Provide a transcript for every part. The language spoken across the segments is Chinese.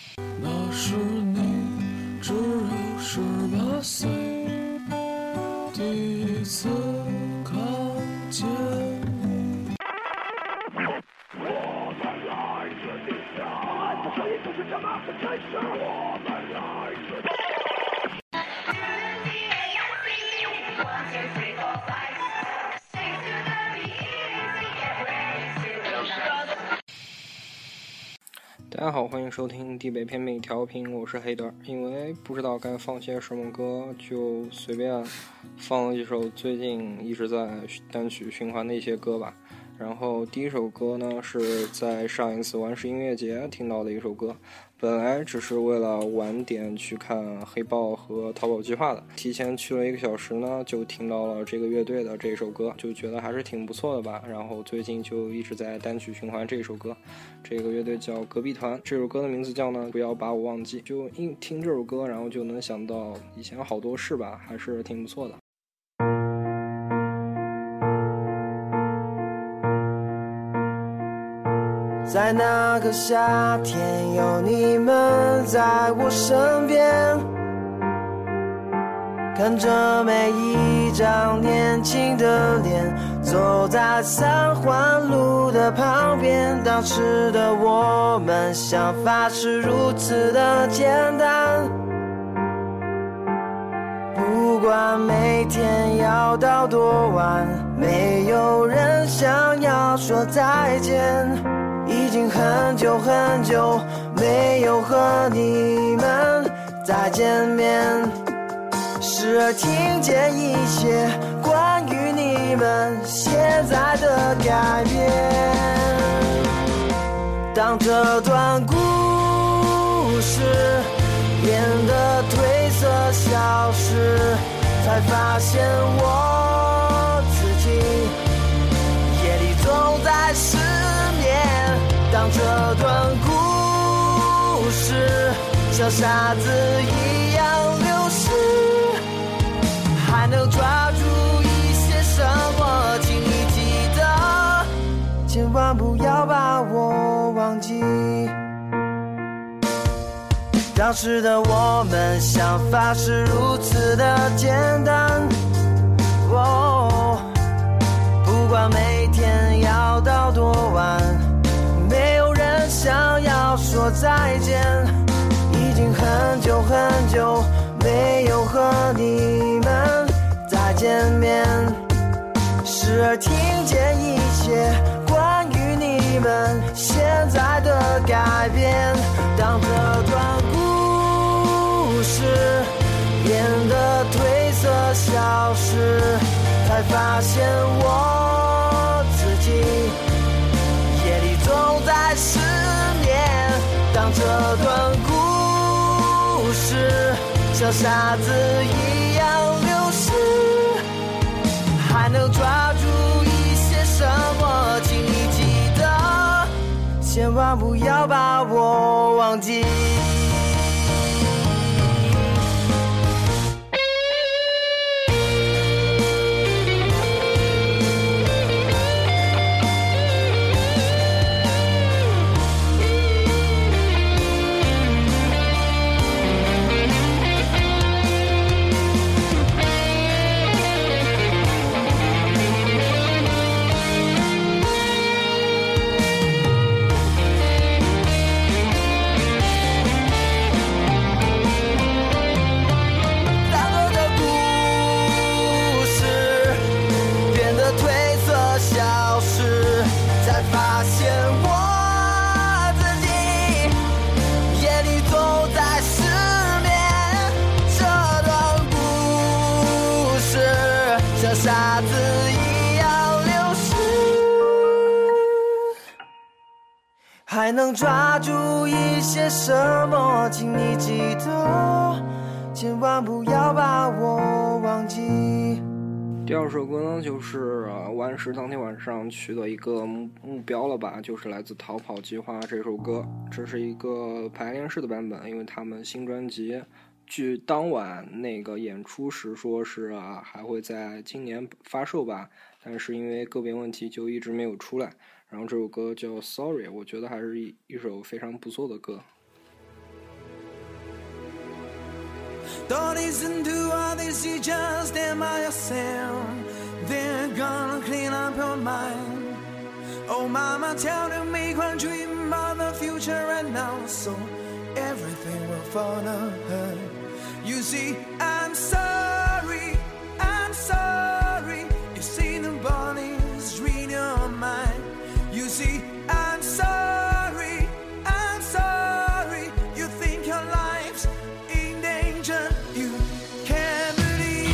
那时你只有18岁，第一次看见你。我们来自地下，这里就是这么的真实。我们来自。大家好，欢迎收听地北偏美调频，我是黑德。因为不知道该放些什么歌，就随便放了一首最近一直在单曲循环的一些歌吧。然后第一首歌呢，是在上一次玩世音乐节听到的一首歌，本来只是为了晚点去看黑豹和逃跑计划的，提前去了1个小时呢，就听到了这个乐队的这首歌，就觉得还是挺不错的吧。然后最近就一直在单曲循环这首歌，这个乐队叫隔壁团，这首歌的名字叫呢不要把我忘记。就一听这首歌，然后就能想到以前好多事吧，还是挺不错的。 在那个夏天，有你们在我身边，看着每一张年轻的脸，走在三环路的旁边。当时的我们想法是如此的简单，不管每天要到多晚，没有人想要说再见。已经很久很久没有和你们再见面，时而听见一些关于你们现在的改变。当这段故事变得褪色消失，才发现我自己夜里总在失眠。当这段故事像沙子一样流逝，还能抓住一些什么，请你记得，千万不要把我忘记。当时的我们想法是如此的简单，不管每天要到多晚，没有人想要说再见。已经很久很久没有和你们再见面，时而听见一些关于你们现在的改变。当这段故事变得褪色消失，才发现我自己夜里总在失眠。当这段故事像沙子一样流逝，还能抓住一些什么，请你记得，千万不要把我忘记。沙子一样流逝，还能抓住一些什么，请你记得，千万不要把我忘记。 第二首歌呢，就是完时当天晚上取得一个目标了吧，就是来自逃跑计划这首歌。这是一个排练式的版本，因为他们新专辑据当晚那个演出时说是还会在今年发售吧，但是因为个别问题就一直没有出来。然后这首歌叫 Sorry， 我觉得还是一首非常不错的歌。 Don't listen to all they say, just stand by yourself. They're gonna clean up your mind. Oh mama, tell them make one dream about the future right now, so everything will fall apart. You see, I'm sorry, I'm sorry. You see the bodies read your mind. You see, I'm sorry, I'm sorry. You think your life's in danger. You can't believe.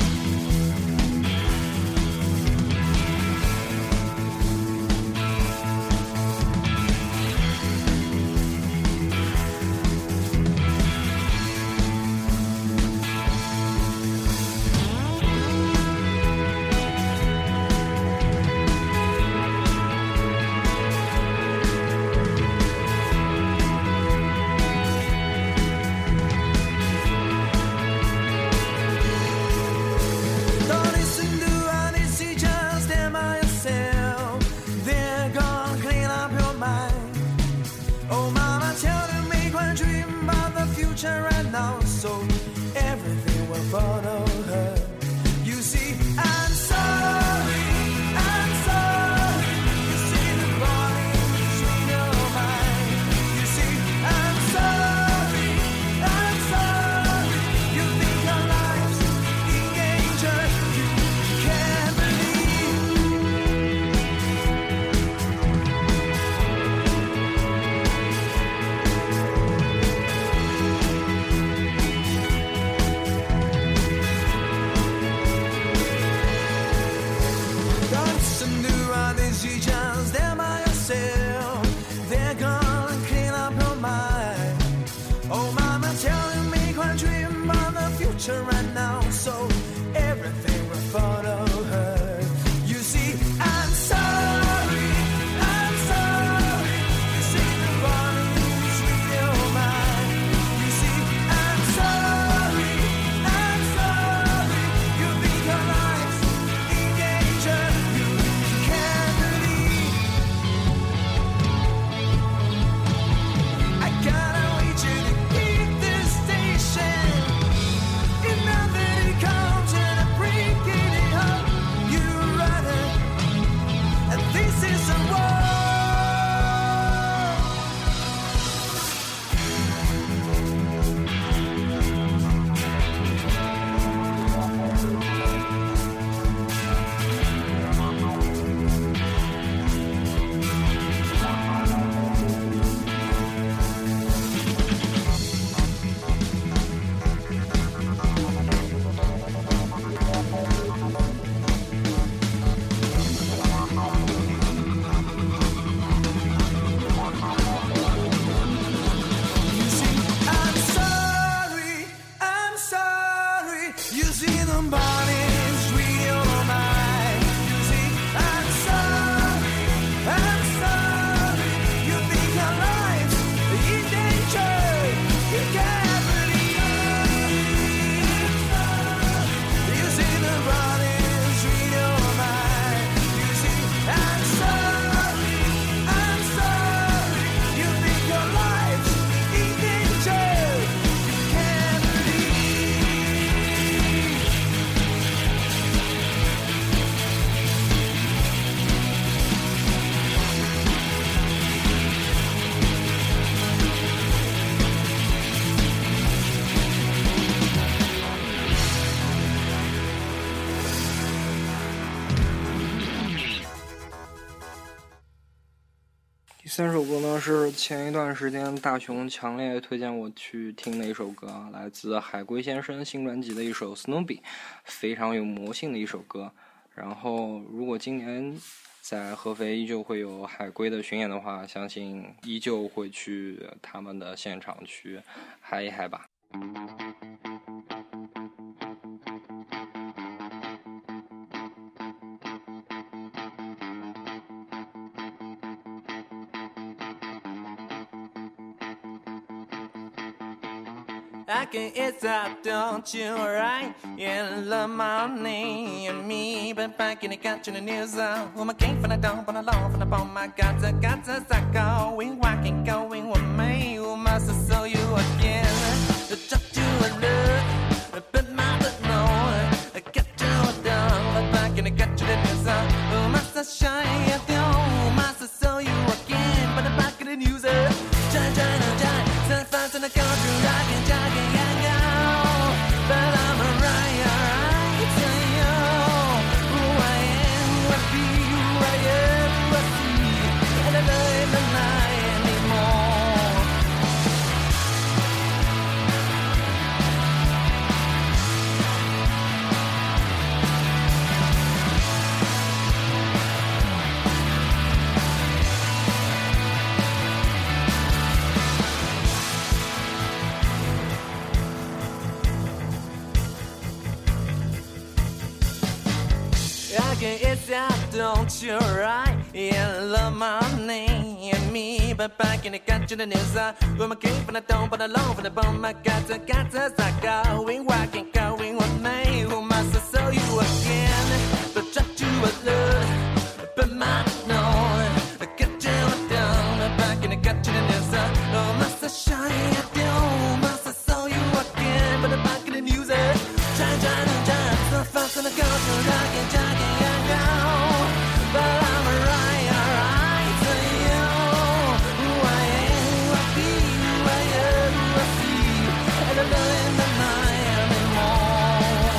Right now, so everything will follow her. You see, I'm sorry, I'm sorry. You see the bodies in your mind. You see, I'm sorry, I'm sorry. You think your life's in danger. You can't right now, so everything will follow her. You see, I'm sorry, I'm sorry. You see the bodies with your mind. You see, I'm sorry, I'm sorry. You think your life's in danger. You can't believe. I gotta wait you to keep this station. 第三首歌呢是前一段时间大雄强烈推荐我去听的一首歌，来自海龟先生新专辑的一首 Snoopy， 非常有魔性的一首歌。然后如果今年在合肥依旧会有海龟的巡演的话，相信依旧会去他们的现场去嗨一嗨吧。 I can eat that, don't you, right? In the morning, and me, but back in the country, the news, woman came from the dump on the lawn, from the bone, my got to going, walking, going with me, who must have saw you again. The talk to a love, It's out, don't you right? Yeah, love my name and me, but back in the country, the news I with my cape and I don't, but alone for the bone. My cats are going, walking, going with me. Who must I sell you again? But try to alert, but my no, get you down. Back in the country, the news I must I shine it down, must I sell you again? But back in the news, try, so fast in the country, jogging, and go. But I'm alright to you. Who I am, who I be, who I am, who I see, and I'm not in the night anymore.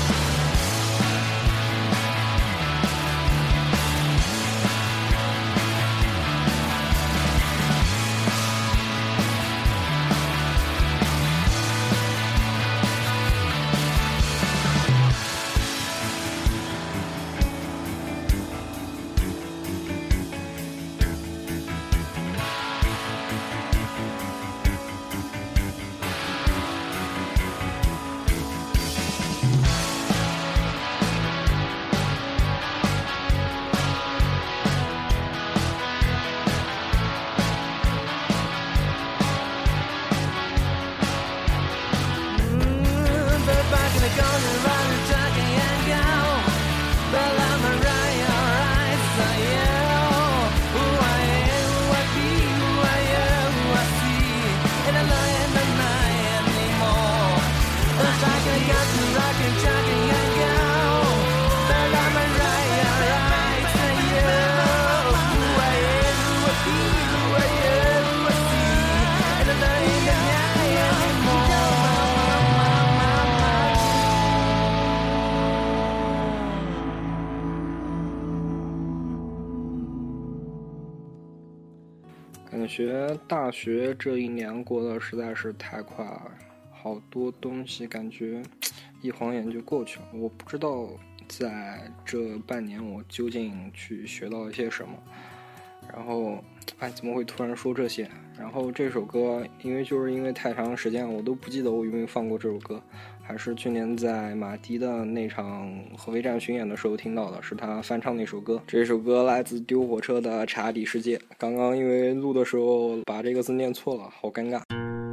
感觉大学这一年过得实在是太快了，好多东西感觉一晃眼就过去了。我不知道在这半年我究竟去学到了些什么，然后怎么会突然说这些？然后这首歌因为太长时间我都不记得我有没有放过这首歌，还是去年在马迪的那场合肥站巡演的时候听到的，是他翻唱那首歌。这首歌来自丢火车的查理世界，刚刚因为录的时候把这个字念错了，好尴尬。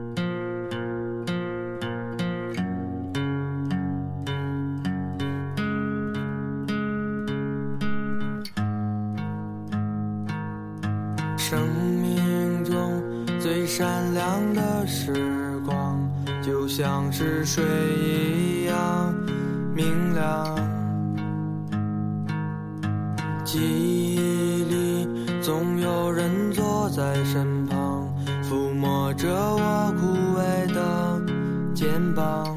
生命中最闪亮的时光，就像是水一样明亮。记忆里总有人坐在身旁，抚摸着我枯萎的肩膀，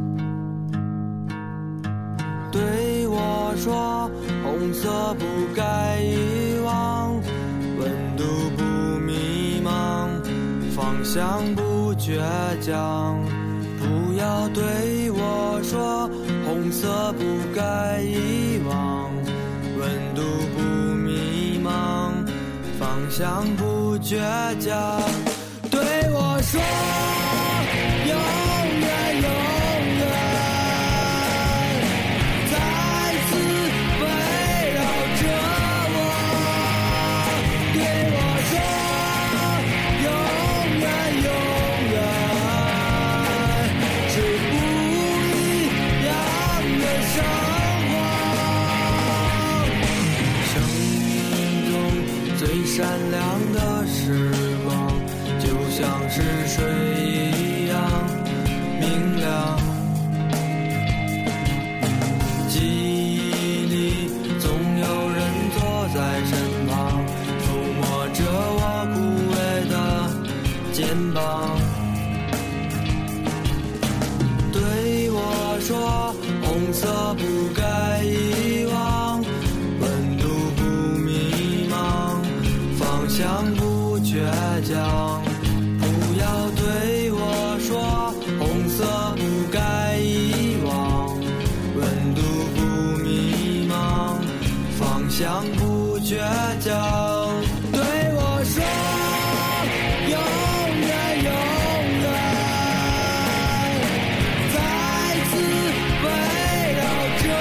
对我说红色不该遗忘，温度不迷茫，方向不倔强。不要对我说红色不该遗忘，温度不迷茫，方向不倔强。对我说永远永远再次围绕着我，对我说永远永远是不一样的生活。生命中最闪亮的时光，就像是水一样明亮。记忆里总有人坐在身旁，抚摸着我枯萎的肩膀，对我说红色不该遗忘，温度不迷茫，方向不倔强。不要对我说红色不该遗忘，温度不迷茫，方向不倔强。对我说永远永远再次围绕着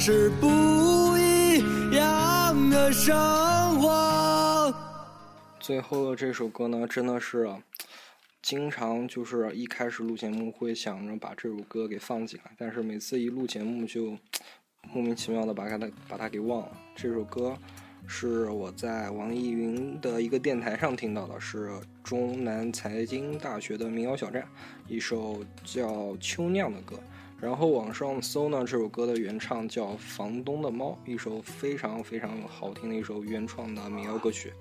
是不一样的生活。 最后的这首歌呢，真的是经常就是一开始录节目会想着把这首歌给放进来，但是每次一录节目就莫名其妙的把它给忘了。这首歌是我在网易云的一个电台上听到的，是中南财经大学的民谣小站一首叫《秋酿》的歌。然后网上搜呢，这首歌的原唱叫房东的猫，一首非常非常好听的一首原创的民谣歌曲。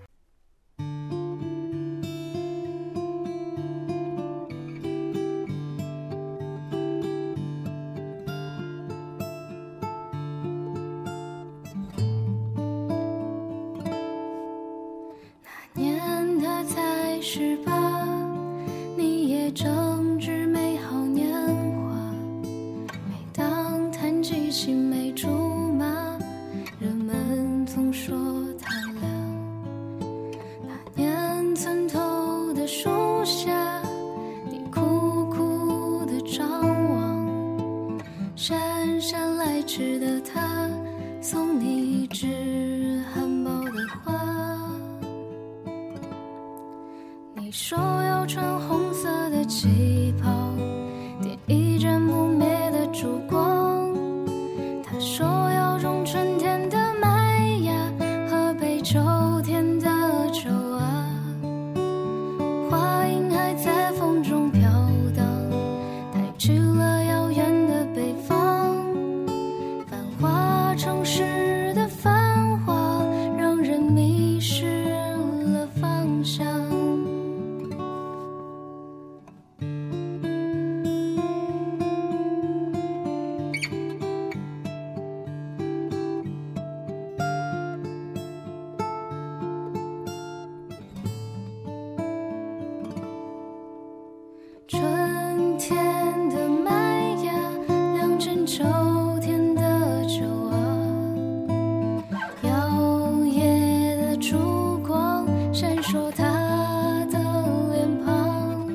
姗姗来迟的他，送你一枝含苞的花。你说要穿红色的旗袍，点一盏不灭的烛光。他说要种春天的麦芽和北秋天的秋啊，花影还在风中飘荡，带去了遥远的北方。繁华城市的繁华，让人迷失了方向。春天的麦芽酿成秋天的酒啊，摇曳的烛光闪烁他的脸庞，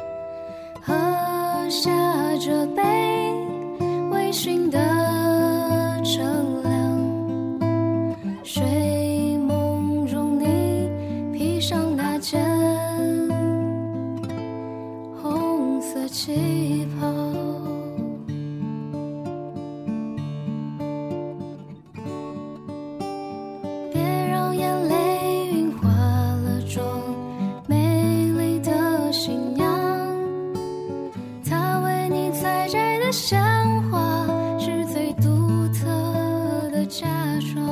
喝下这杯微醺的乘凉，睡梦中你披上那件红色旗袍。别让眼泪晕花了妆，美丽的新娘，她为你采摘的鲜花是最独特的嫁妆。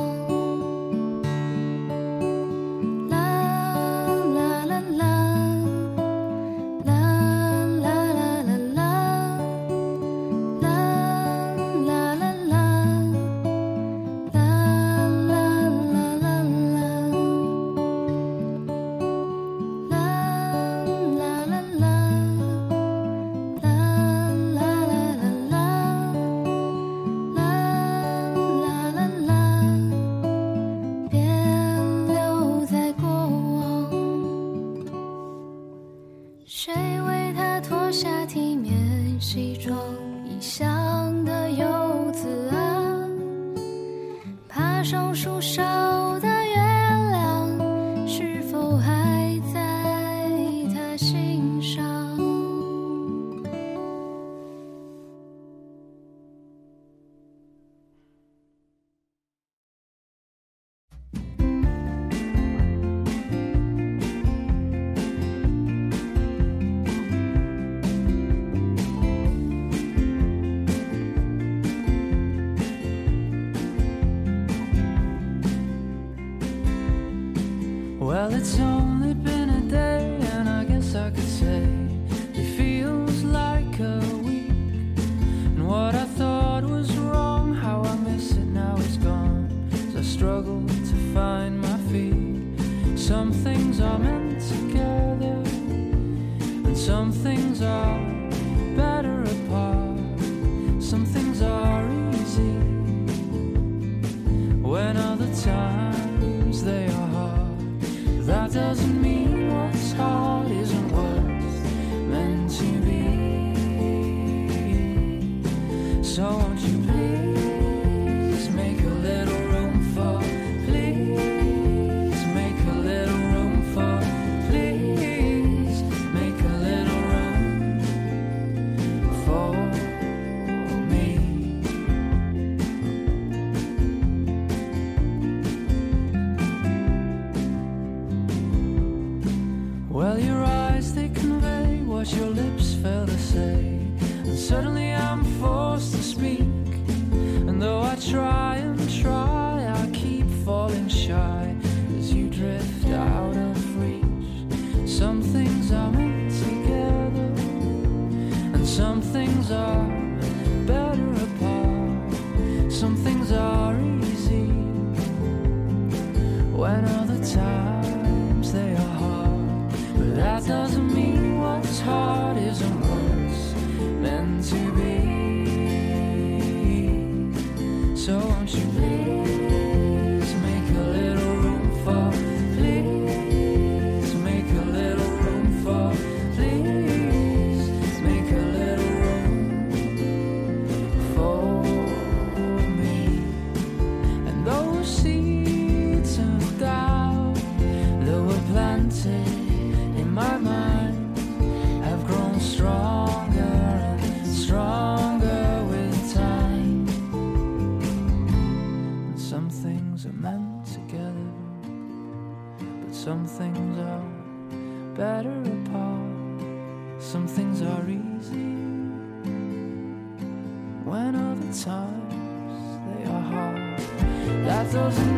谁为他脱下体面西装，异乡的游子啊，爬上树梢的月亮，是否还在他心上？ Well, it's only been a day, and I guess I could say it feels like a week. And what I thought was wrong, how I miss it now it's gone, as I struggle to find my feet. Some things are meant together, and some things are better apart. Some things are easy, when other times they are hard. That doesn't mean what's hard isn't what's meant to be. So won't you please make please make a little room for, please make a little room for, please make a little room for me. And those seeds of doubt that were planted in my mind have grown stronger and stronger with time. And some things are meant together, but some things are better apart. Some things are easy when other times they are hard. That doesn't